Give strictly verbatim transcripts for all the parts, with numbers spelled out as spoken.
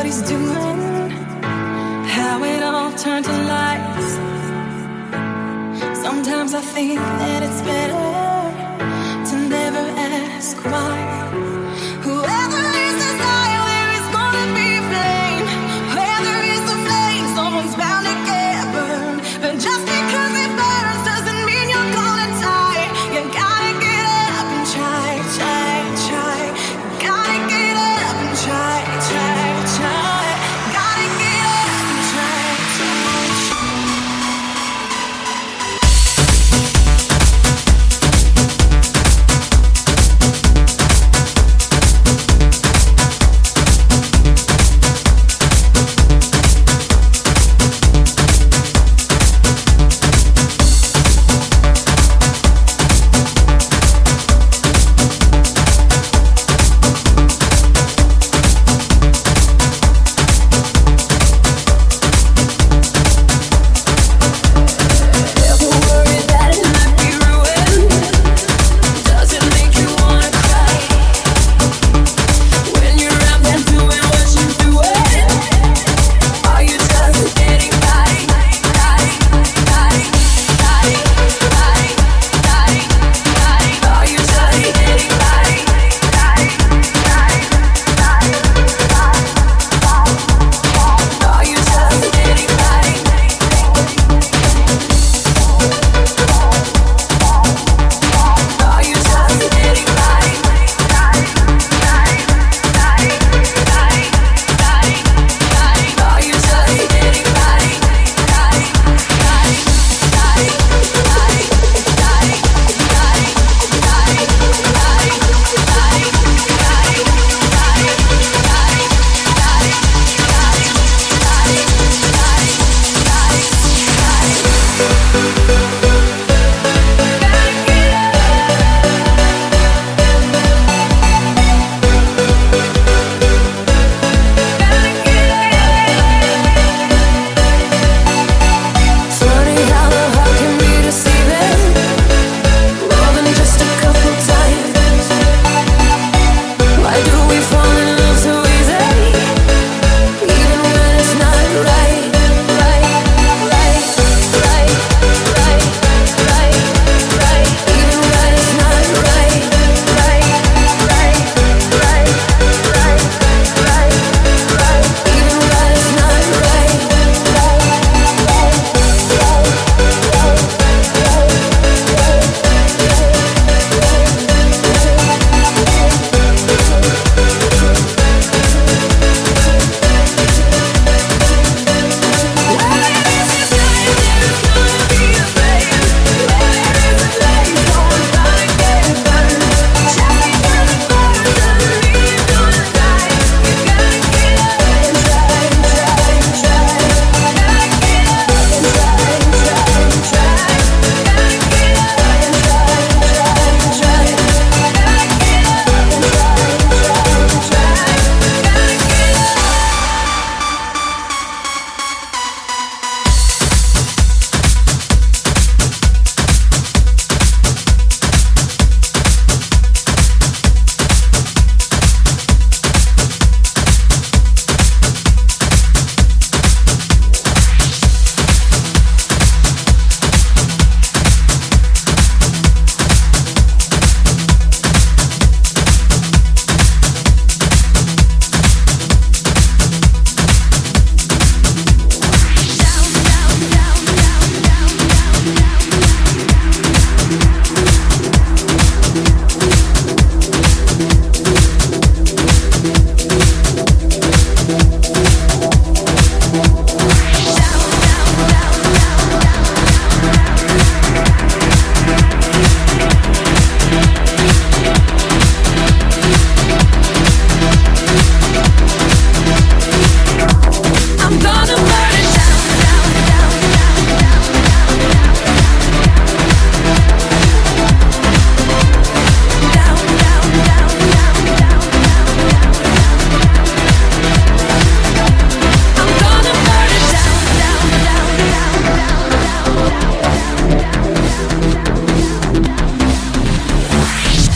he's doing, how it all turned to lies. Sometimes I think that it's better to never ask why. Whoever is desire, there is gonna be flame. Where there is a flame, someone's bound to get burned. But just because it burns doesn't mean you're gonna die. You gotta get up and try, try, try. You gotta get up and try, try, try. Gotta get up and try, try, try.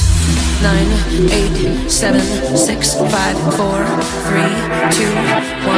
Eight, seven, six, five, four, three, two, one.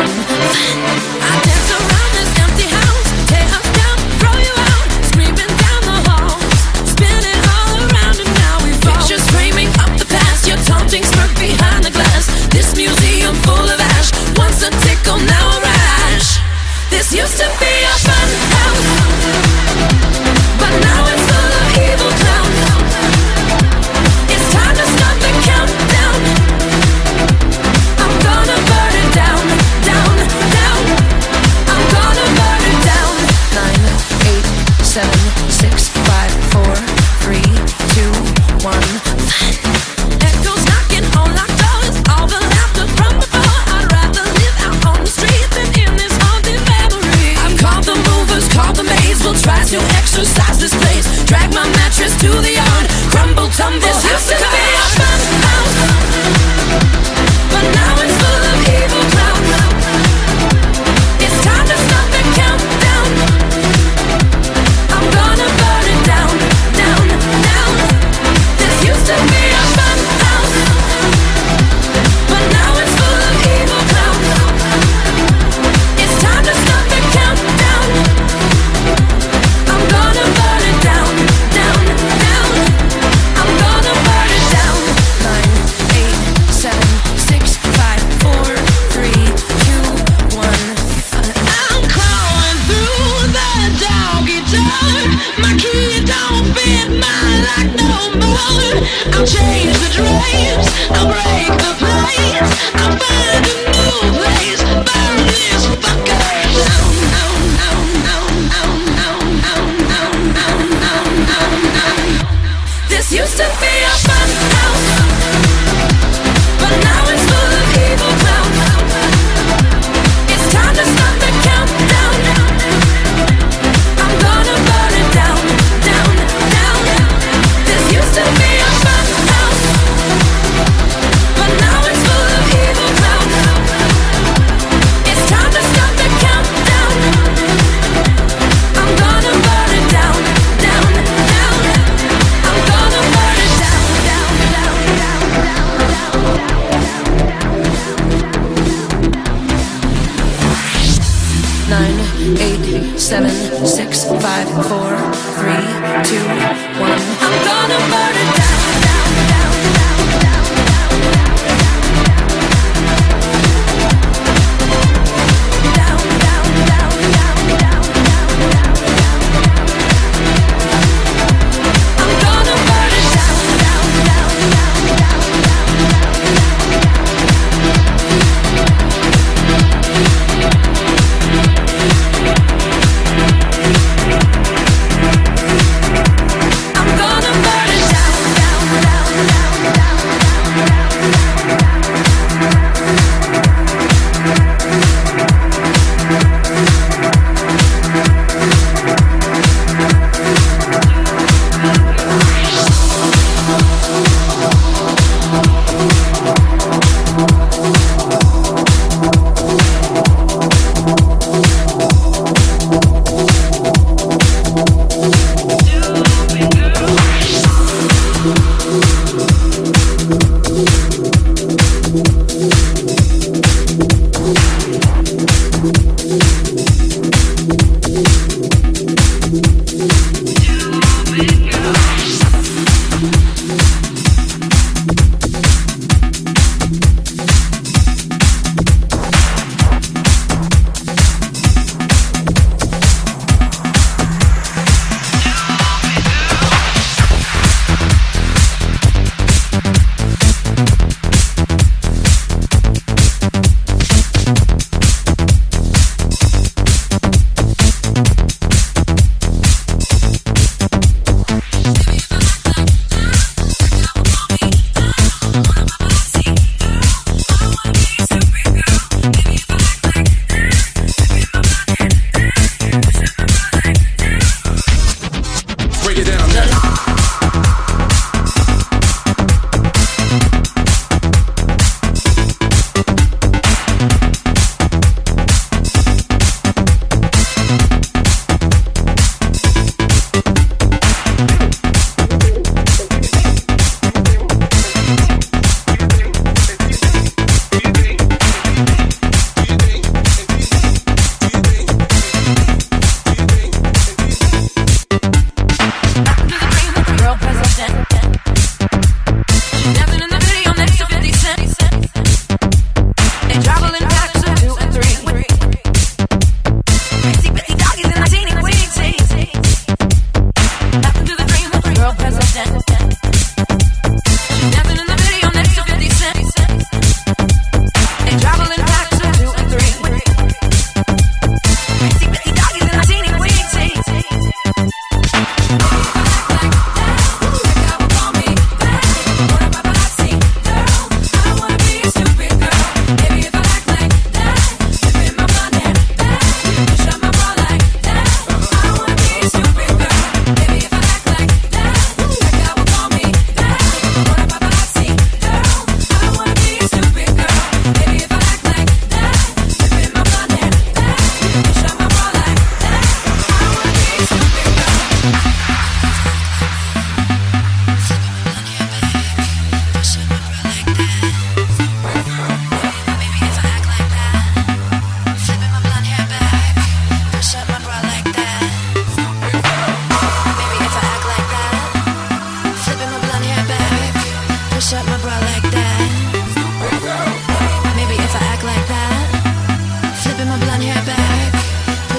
seven, six, five, four, three, two, one. Echoes knocking on locked doors, all the laughter from before. I'd rather live out on the street than in this haunted memory. I've called the movers, called the maids, we'll try to exercise this place. Drag my mattress to the yard, crumble, tumble. This used to be a fun house, but now it's full of evil clowns. It's time to stop the countdown. I'm gonna burn it down, down, down. This used to be a fun house, but now it's full of evil clowns. It's time to stop the countdown. I'm gonna burn it down, down, down. I'm gonna burn it down. Nine, eight, seven, six, five, four, three, two, one. I'm crawling through the doggy door. My key don't fit my lock no more. I'll change the drapes, I'll break the plates, I'll find a new place, burn this fucker down, down, down, down, down, down, down, down, down, down, down. This used to be a fun house, but now it's full of evil clowns. It's time to stop the countdown. I'm gonna burn it down, down, down. This used to be a fun house, but now it's full of evil clowns. It's time to stop the countdown. I'm gonna burn it down, down, down. I'm gonna burn it down, down, down, down, down, down. Nine, eight, seven, six, five, four, three, two, one. I'm gonna burn it down, down, down, down, down, down, down, down, down, down, down. I'm gonna burn it down, down, down, down, down, I'm gonna burn it down, down, down, down, down,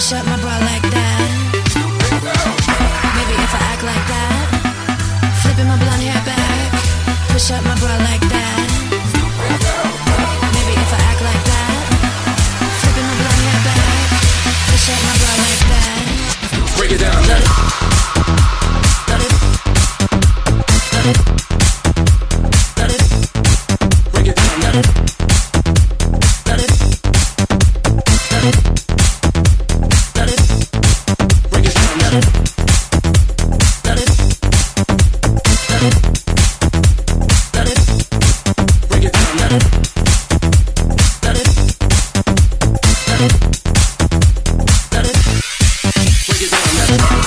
push up my bra like that. Maybe if I act like that, flipping my blonde hair back, push up my bra like that. Maybe if I act like that, flipping my blonde hair back, push up my bra like that. Break it down. Let it, let it, let it, let it, Break it down. let it, let it, let it, let it, Break it down. let it, let it, let it, let it, Break it down. let it, let it, let it, let it, let it. Break it down.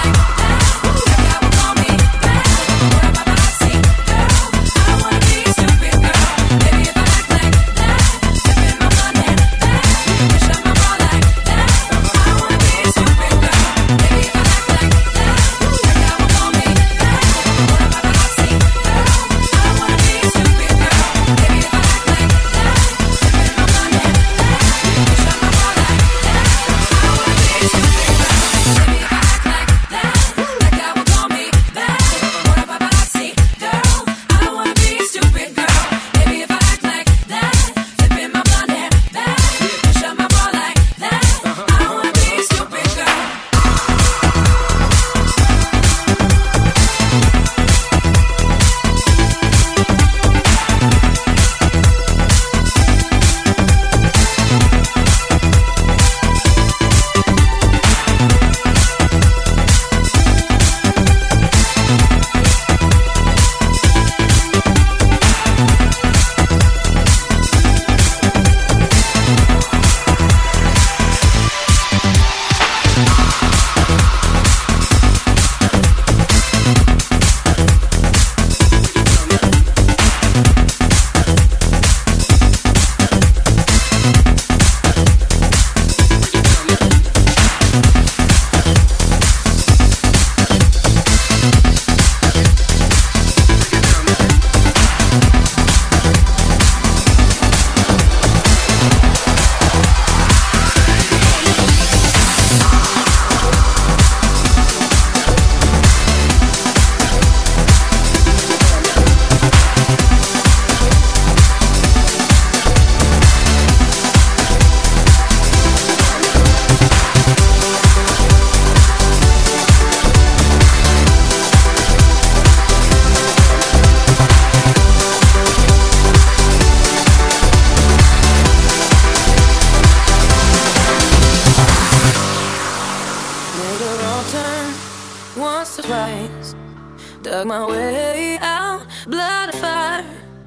Once or twice, dug my way out, blood and fire,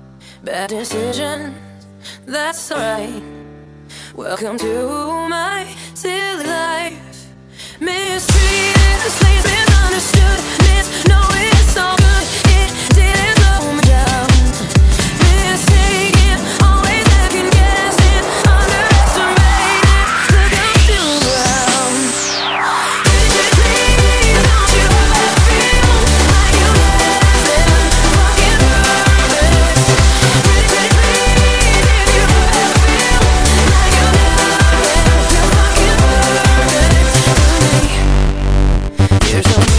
bad decisions, that's alright. Welcome to my silly life. Mistreated, slaves, misunderstood, no, it's all good, it didn't slow me down. Mistaken, always second guessing, underestimated, look, I'm still around. Please don't you ever feel like you never been fucking perfect. Please, please, if you ever feel like you never been fucking perfect to me. Here's some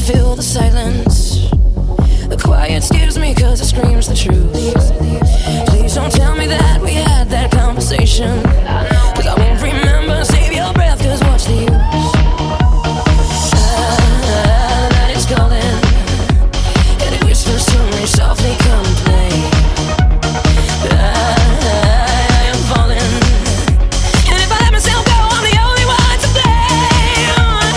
fill the silence. The quiet scares me cause it screams the truth. Please don't tell me that we had that conversation, cause I won't remember. Save your breath, cause what's the use? Ah, the night is calling, and it whispers to me softly, come play. I, I am falling, and if I let myself go, I'm the only one to blame.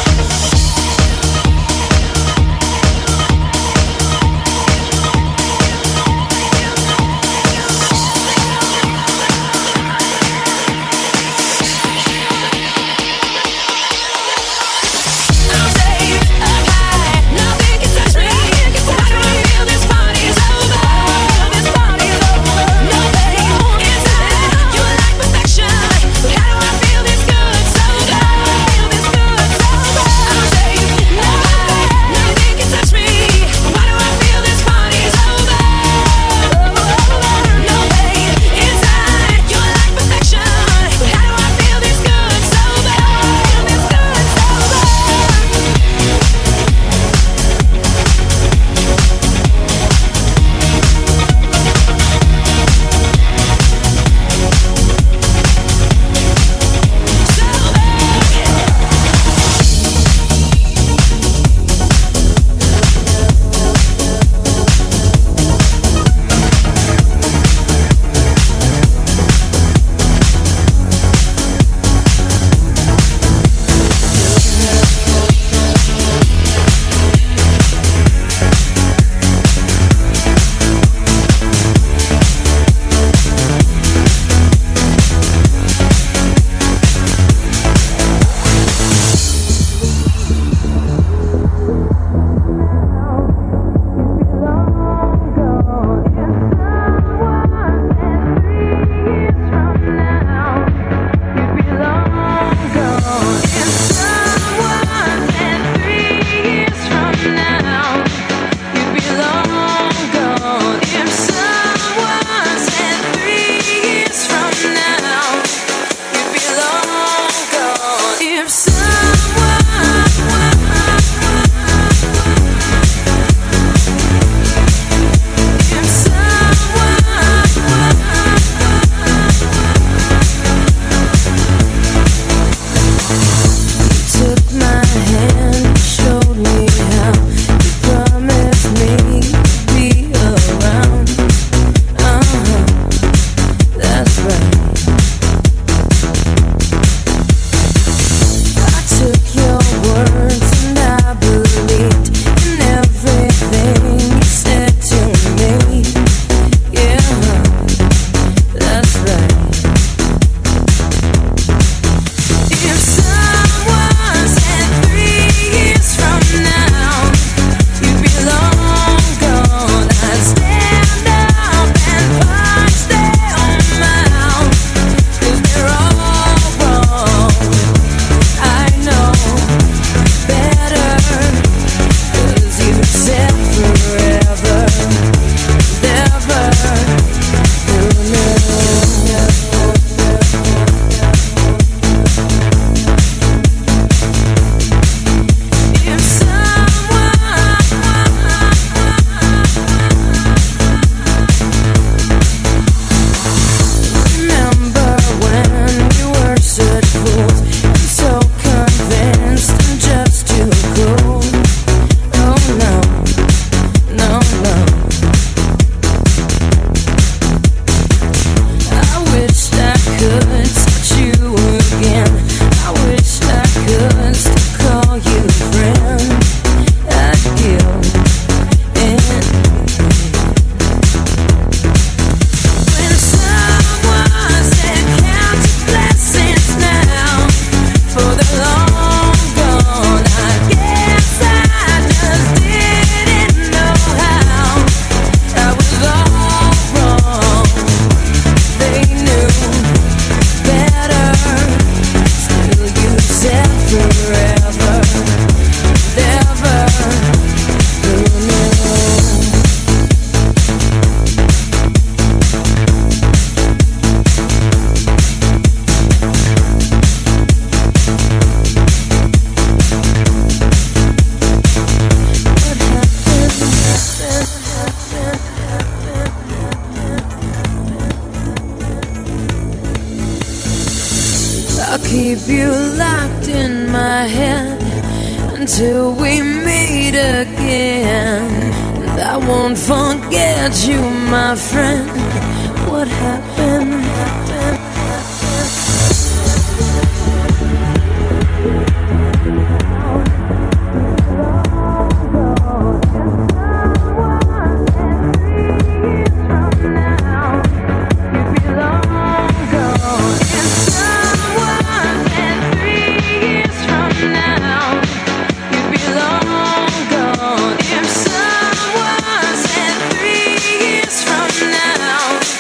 I'll keep you locked in my head until we meet again. And I won't forget you, my friend. What happened? happened, Now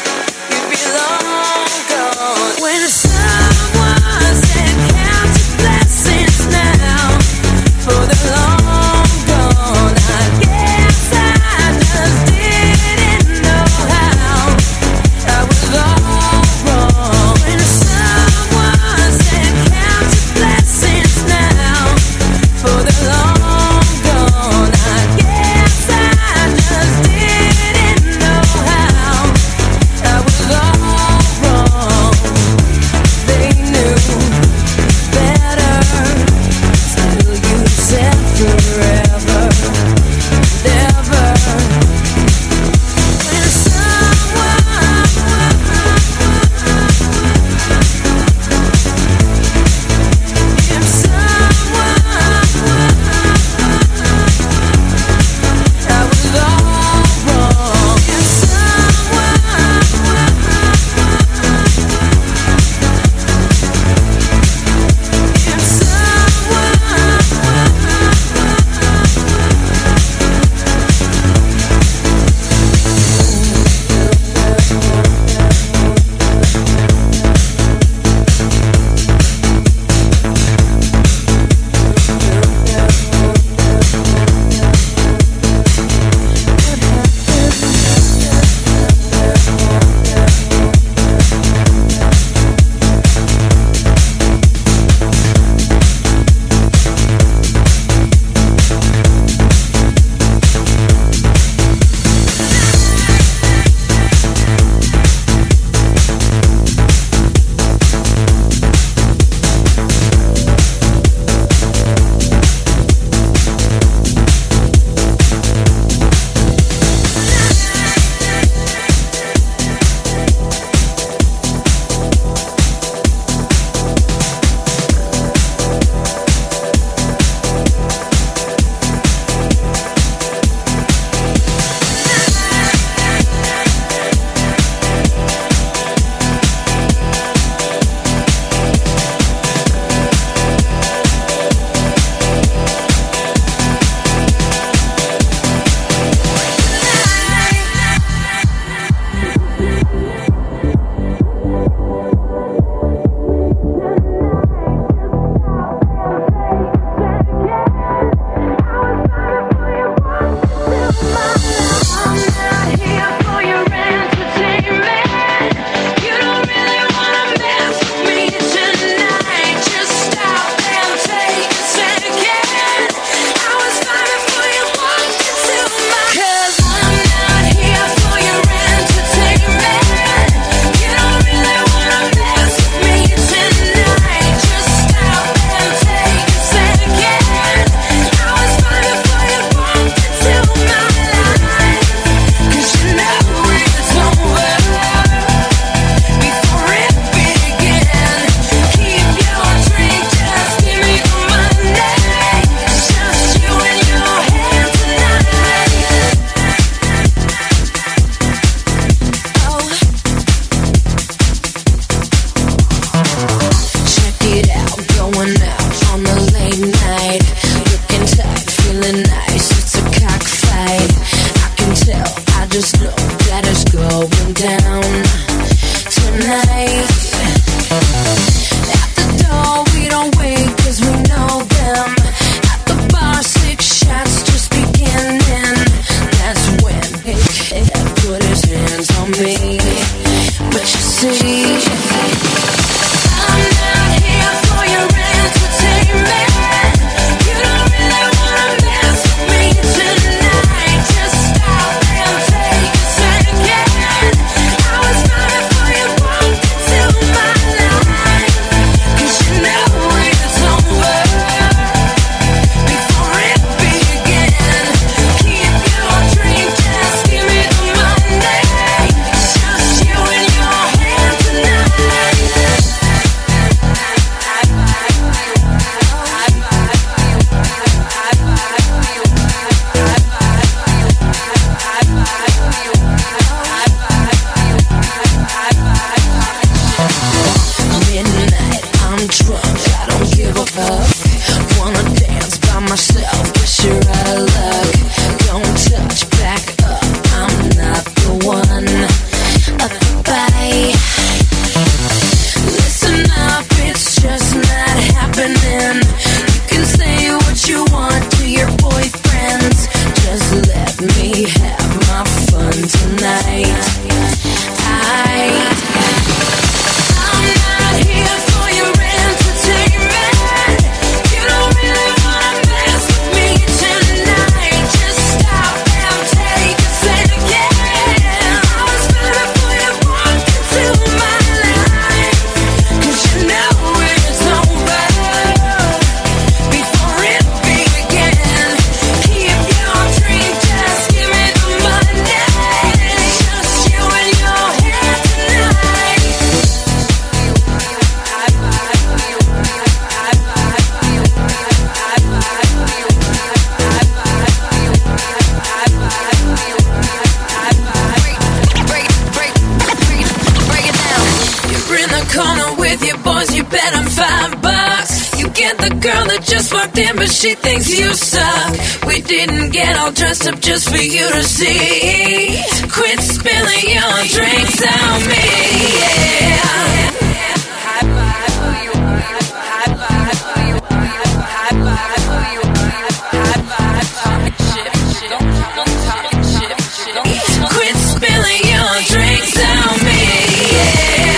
at the girl that just walked in, but she thinks you suck. We didn't get all dressed up just for you to see. Quit spilling your drinks on me, yeah. High five for you, high five for you, high five for you, high five for shit, shit, don't talk shit, shit. Quit spilling your drinks on me, yeah.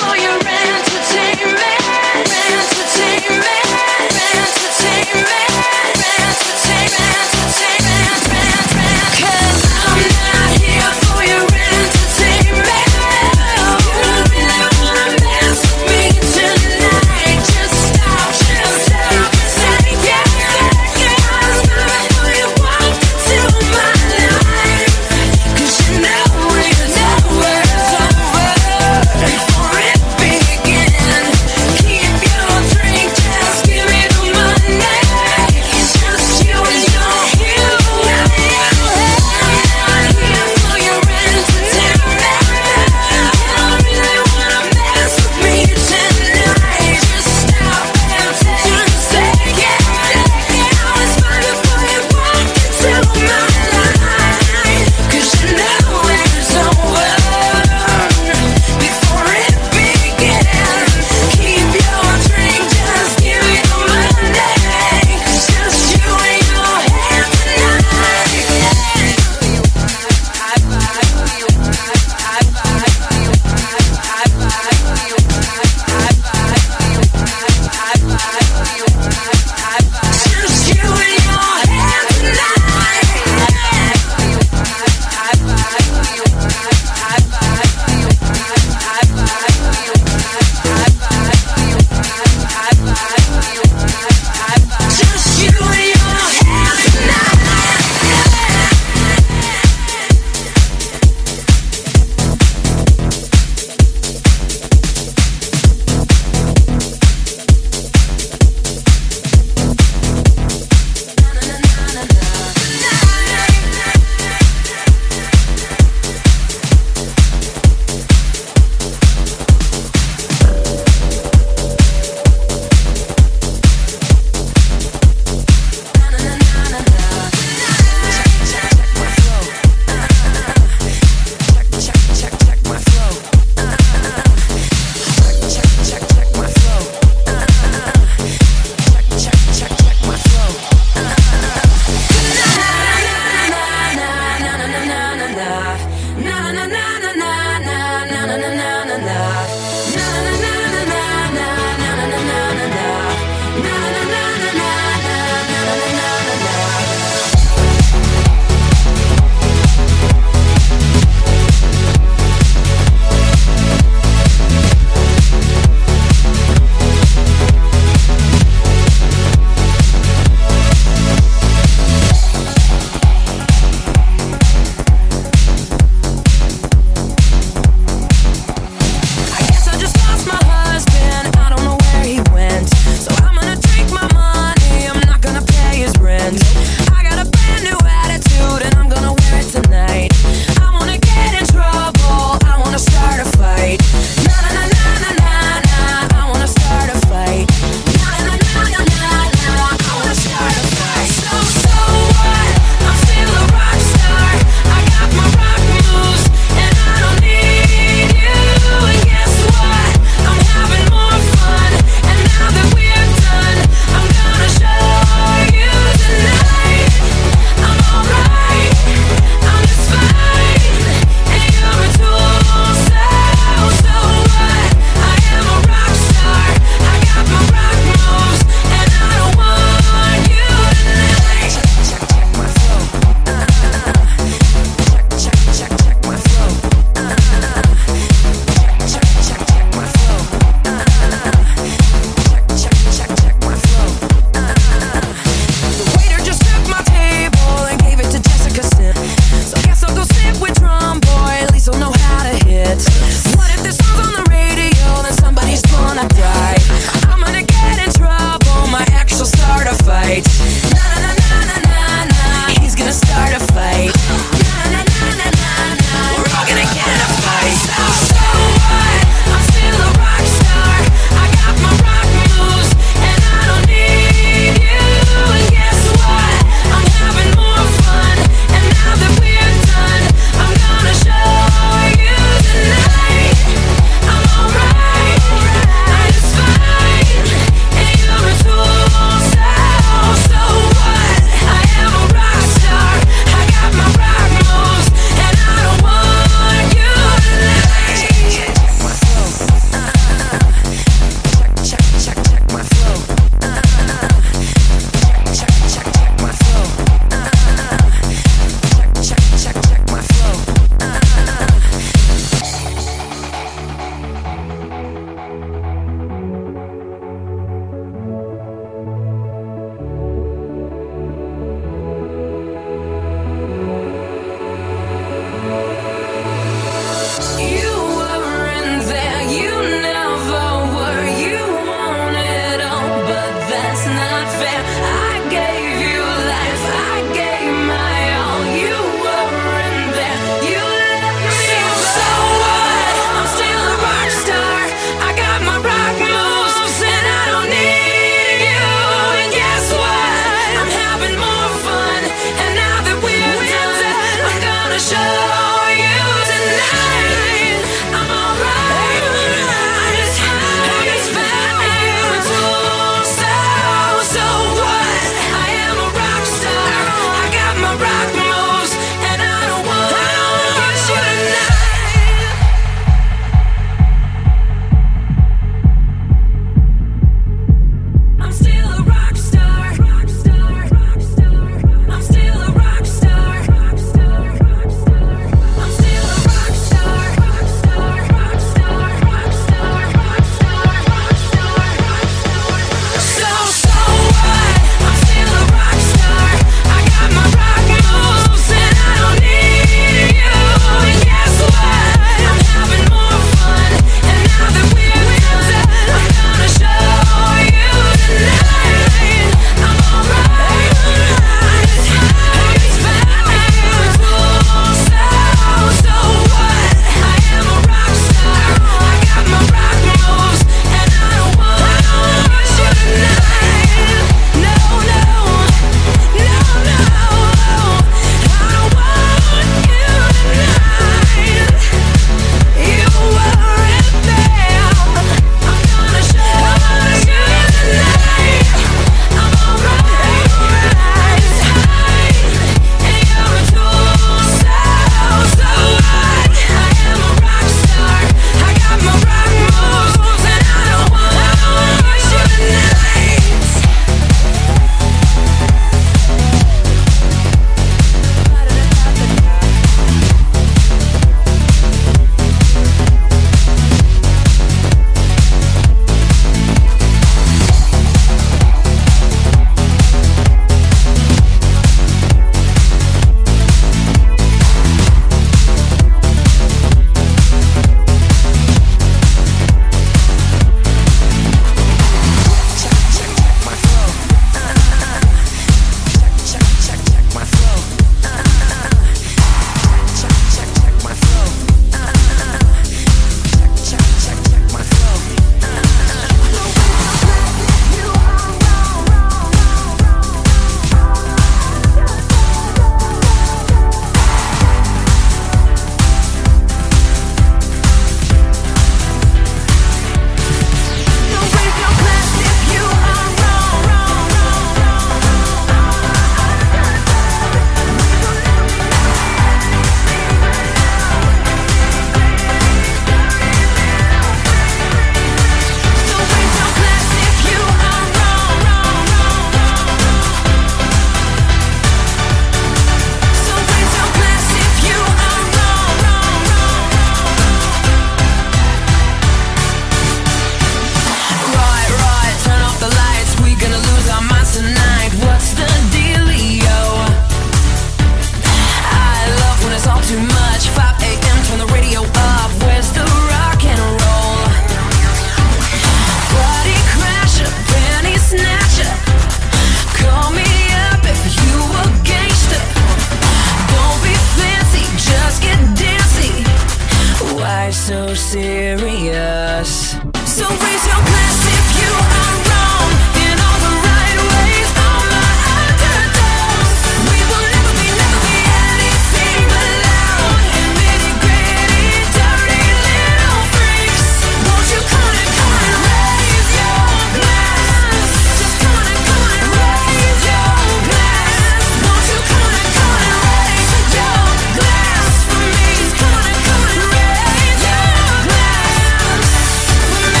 serious. So raise your glass if you are wrong in all the right ways. All my underdogs, we will never be, never be anything but loud and nitty gritty, dirty little freaks. Won't you come on and come on and raise your glass? Just come on and come on and raise your glass. Won't you come on and come on and raise your glass for me? Just come on and come on and raise your glass for me.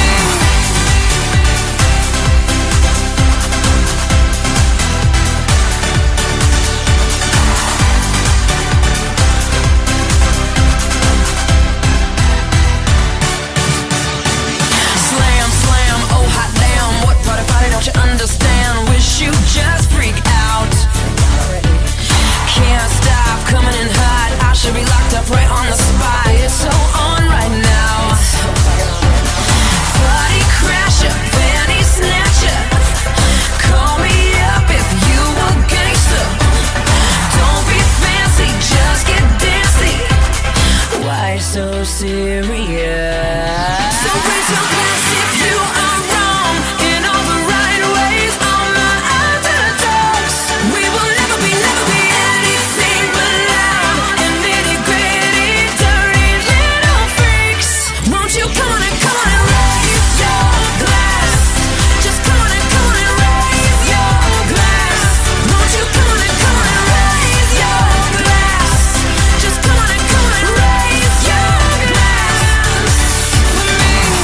Slam, slam, oh hot damn. What part about it don't you understand? Wish you just freak out. Can't stop coming in hot. I should be locked up right on the spot. It's so on right now. Body crasher, fanny snatcher. Call me up if you a gangster. Don't be fancy, just get dancy. Why so serious? So raise your glass if you are wrong in all the right ways. All my underdogs, we will never be, never be anything but loud and nitty gritty, dirty little freaks. Won't you come on and come on and raise your glass? Just come on and come on and raise your glass. Won't you come on and come on and raise your glass? Just come on and come on and raise your glass for me.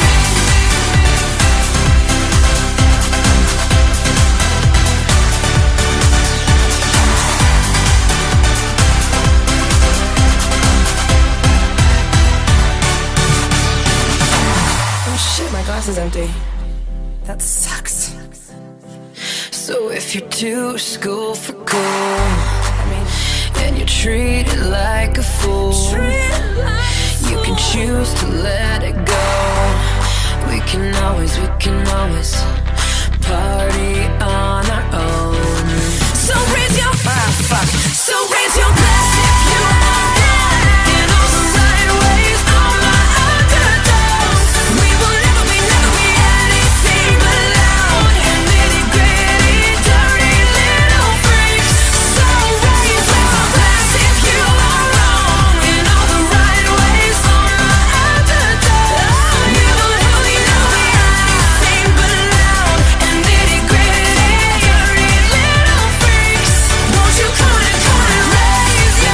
Oh shit, my glass is empty. That sucks. So if you're too school for cool, and you're treated like a fool, you can choose to let it go. We can always, we can always party on our own. So raise your ah fuck. So raise your glass if you are wrong in all the right ways. All my underdogs, we will never be, never be anything but loud and nitty gritty, dirty little freaks. So raise your glass if you are wrong in all the right ways. All my underdogs, we will never be, never be anything but loud and nitty gritty, dirty little freaks. Won't you come on and come on and raise your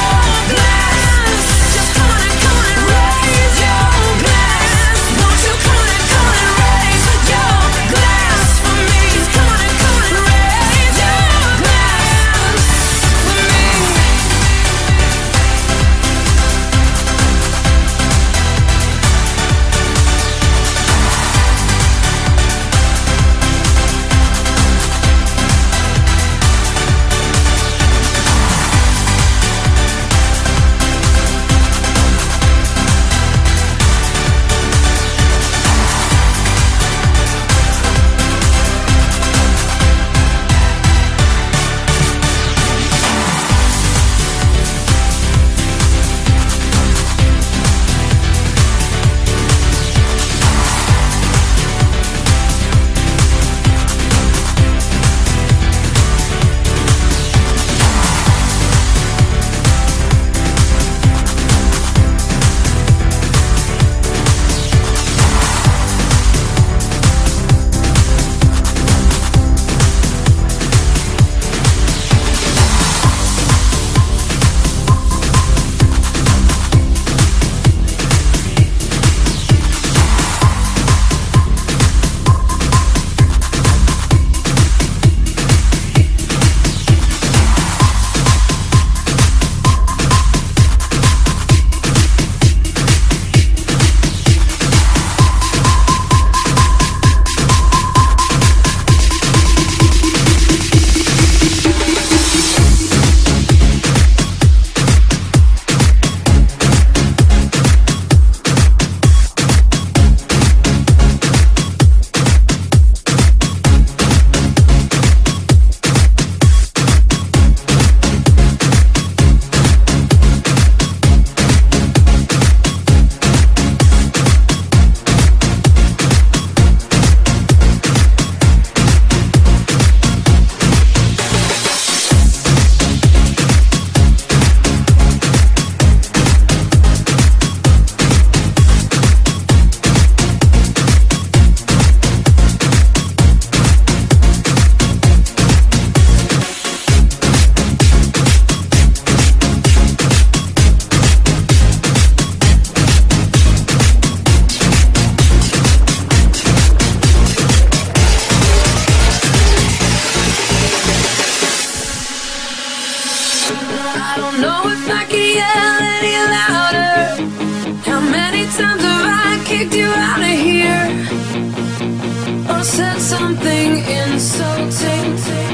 out of here or said something insulting.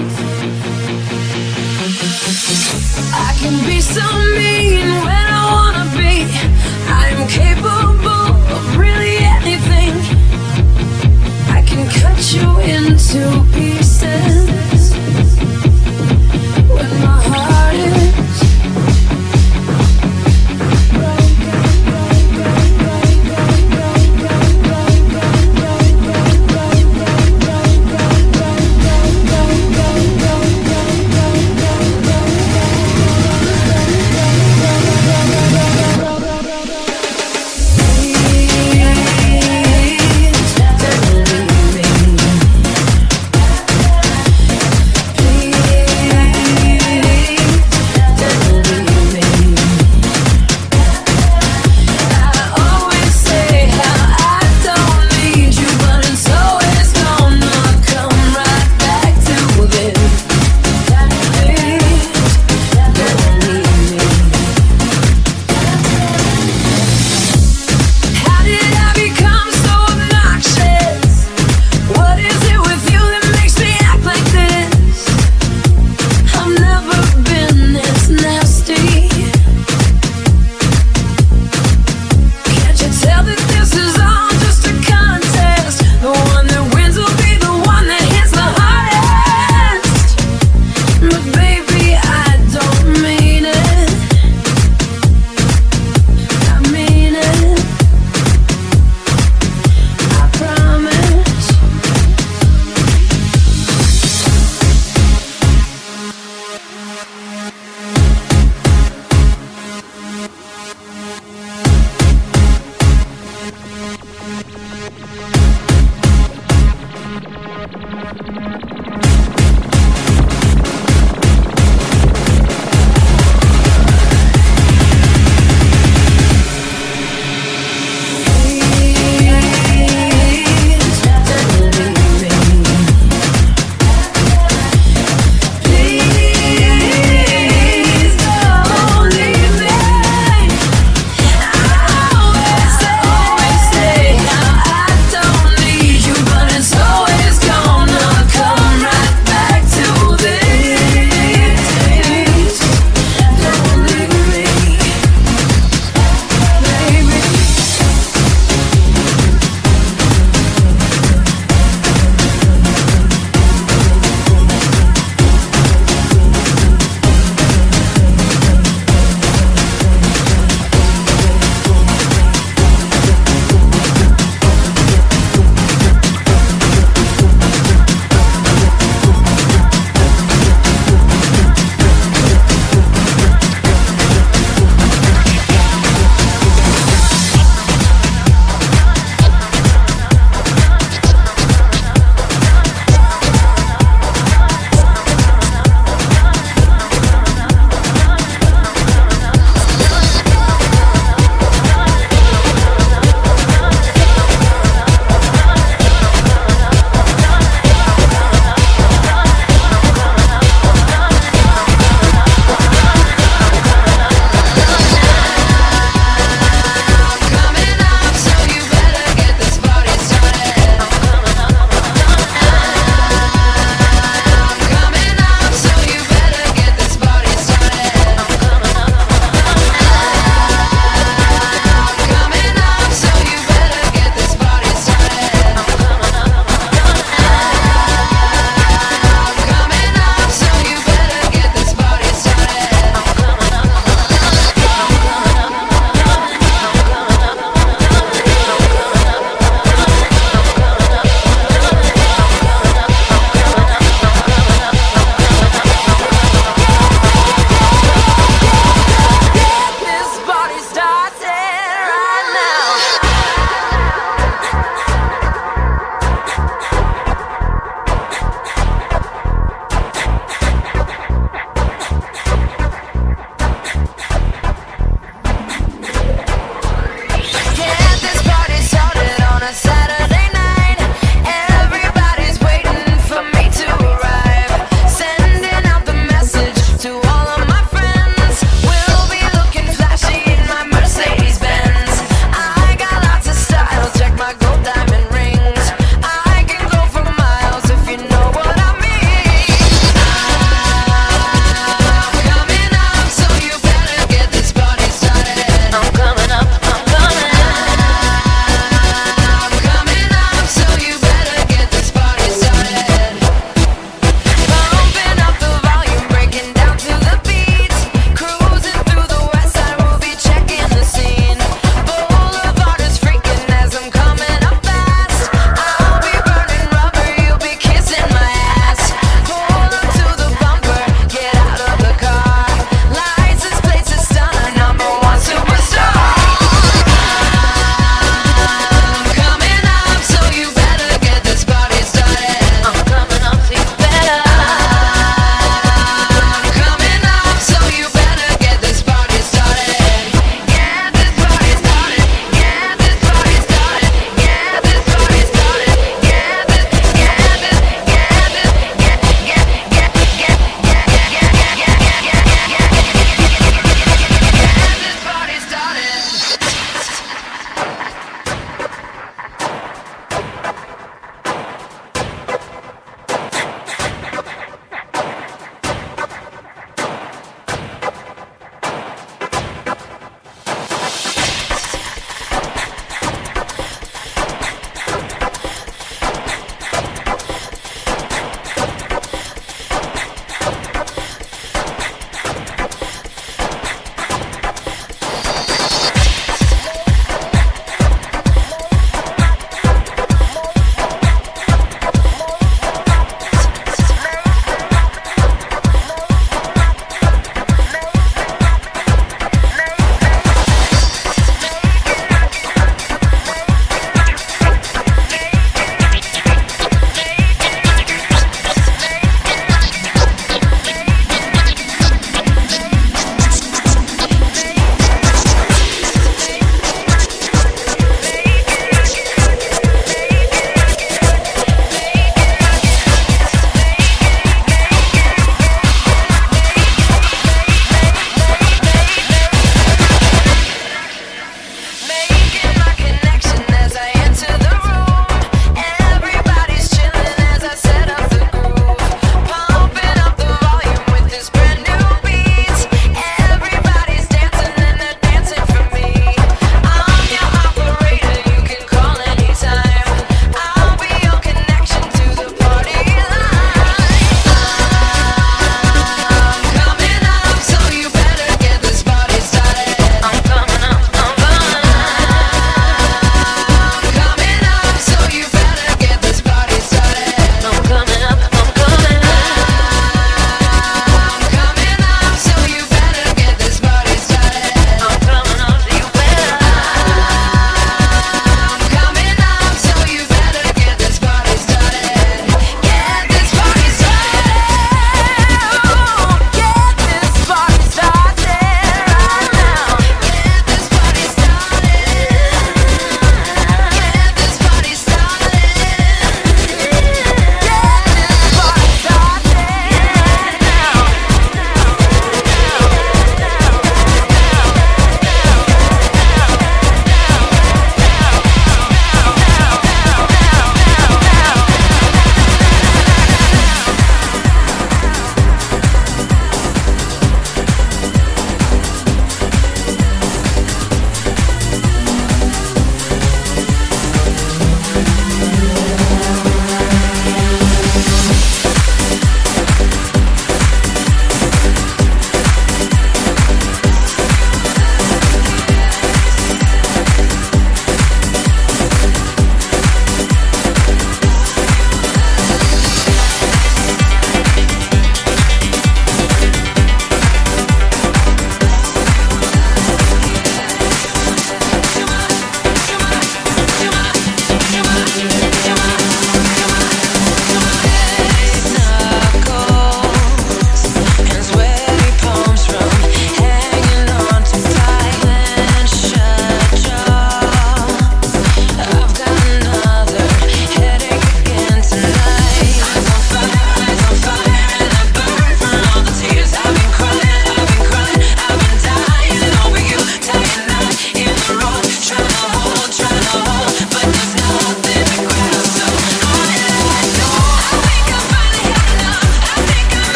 I can be so mean when I wanna be. I'm capable of really anything. I can cut you into pieces when my heart is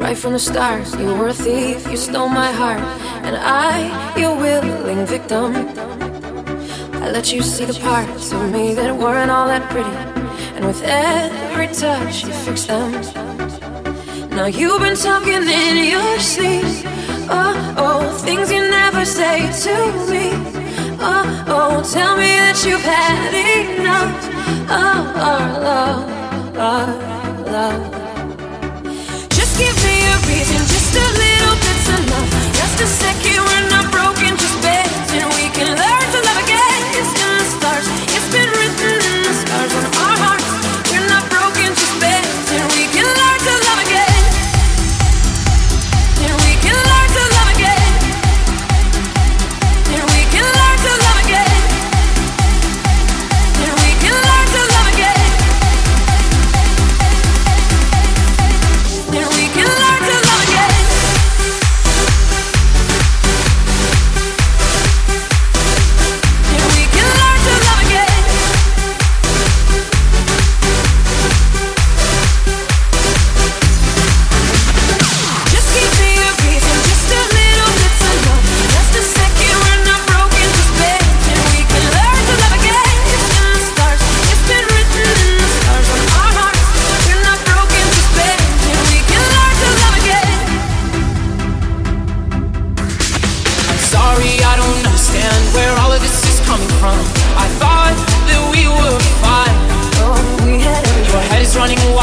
right from the start. You were a thief, you stole my heart, and I, your willing victim. I let you see the parts of me that weren't all that pretty, and with every touch you fixed them. Now you've been talking in your sleep. Oh, oh, things you never say to me. Oh, oh, tell me that you've had enough of our love, our love. Just give me a reason, just a little bit's enough. Just a second, we're not broken, just bends, and we can learn to love again. It's in the stars, it's been written in the scars on our hearts. We're not broken, just bends, and we can learn to love again. And we can learn to love again. And we can learn to love again. And we can learn to love again. And we can learn to love again. And we can learn to love again. Just give me a reason, just a little bit's enough. Just a second, we're not broken, just bends, and we can learn to love again. It's in the stars, it's been written in the stars on our hearts. We're not broken, just bends, and we can learn to love again. I'm sorry, I don't understand where all of this is coming from. I thought that we were fine. Oh, we had every Your head is running